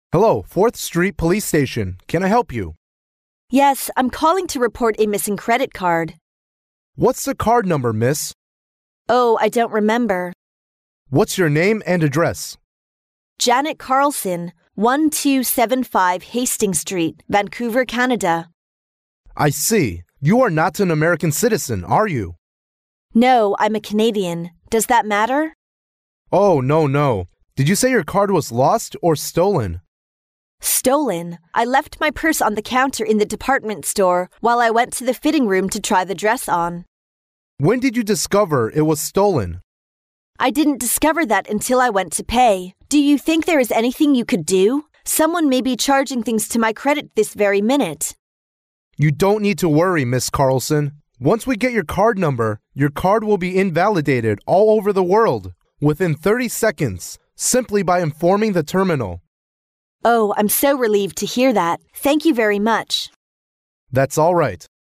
Hello, 4th Street Police Station. Can I help you? Yes, I'm calling to report a missing credit card. What's the card number, miss? Oh, I don't remember. What's your name and address? Janet Carlson, 1275 Hastings Street, Vancouver, Canada. I see. You are not an American citizen, are you? No, I'm a Canadian. Does that matter? Oh, no. Did you say your card was lost or stolen? Stolen. I left my purse on the counter in the department store while I went to the fitting room to try the dress on. When did you discover it was stolen? I didn't discover that until I went to pay. Do you think there is anything you could do? Someone may be charging things to my credit this very minute. You don't need to worry, Miss Carlson. Once we get your card number, your card will be invalidated all over the world within 30 seconds, simply by informing the terminal. Oh, I'm so relieved to hear that. Thank you very much. That's all right.